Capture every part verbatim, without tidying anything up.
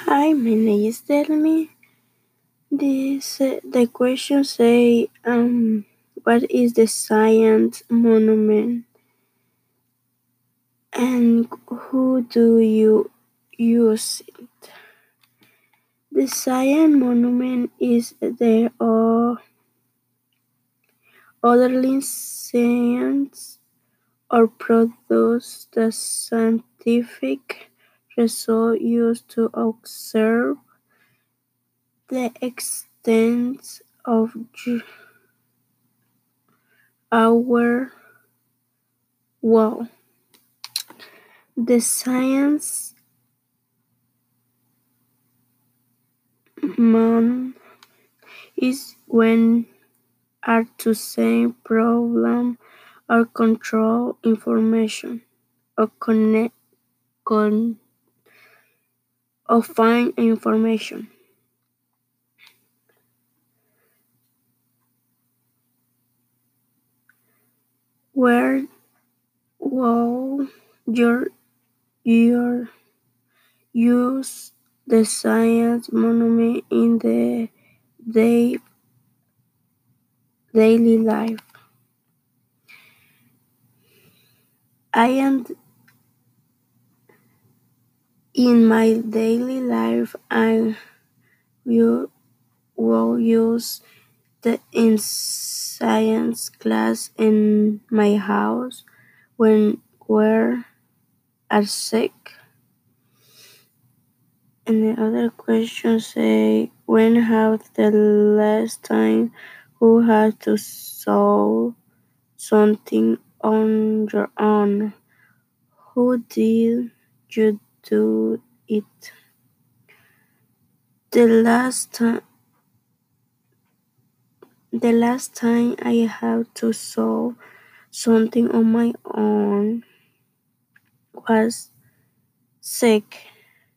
Hi, my name is Delmi. This uh, the question say um what is the science monument and who do you use it? The science monument is the uh, orderly science or produce the scientific result used to observe the extent of our world. The science man is when are to say problem or control information or connect con or find information. Where will your your use the science monument in the day daily life? I am in my daily life I will, will use the in science class in my house when we are sick. And the other question say when have the last time who had to solve something on your own? Who did you do it? The last time the last time I had to solve something on my own was sick.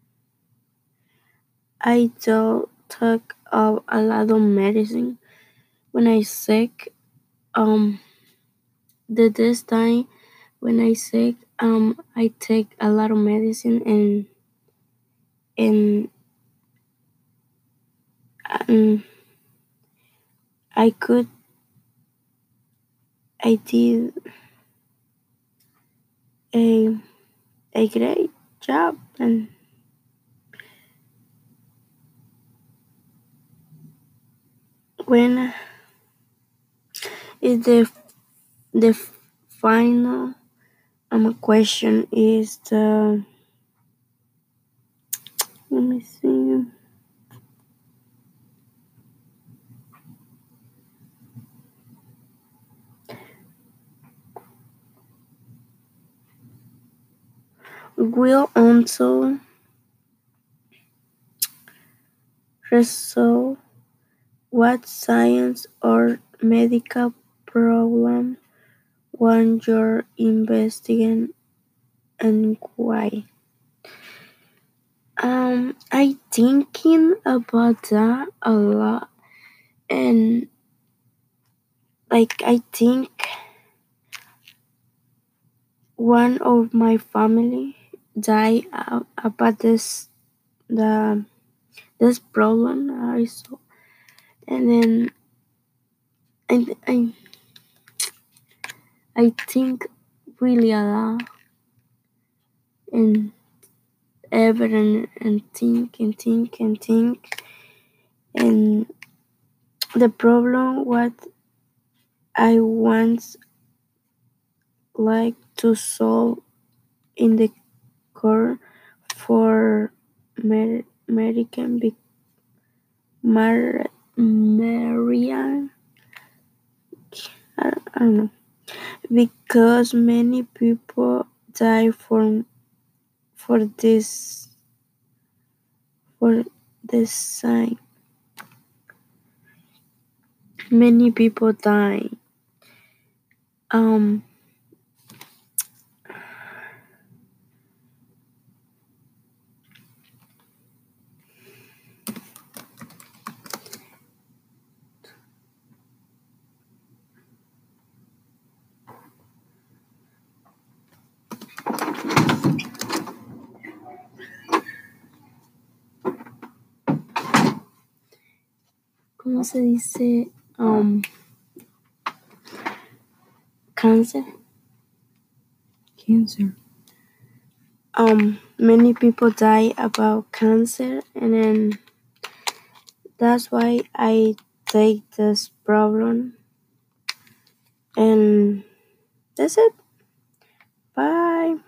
I don't take up a lot of medicine when I sick. Um, the this time when I sick, um, I take a lot of medicine and and um, I could I did a a great job and when is the the final um question is the let me see. Will also resolve what science or medical problem one you're investigating and why? Um, I thinking about that a lot, and like I think one of my family died uh, about this the this problem I saw, and then I I I think really a lot and ever and, and think and think and think and the problem what I once like to solve in the core for Mer- American Big Mar- Marian I, I don't know because many people die for for this for this sign. Many people die. Um ¿cómo se dice? Um, cancer. Cancer. Um, many people die about cancer, and then that's why I take this problem. And that's it. Bye.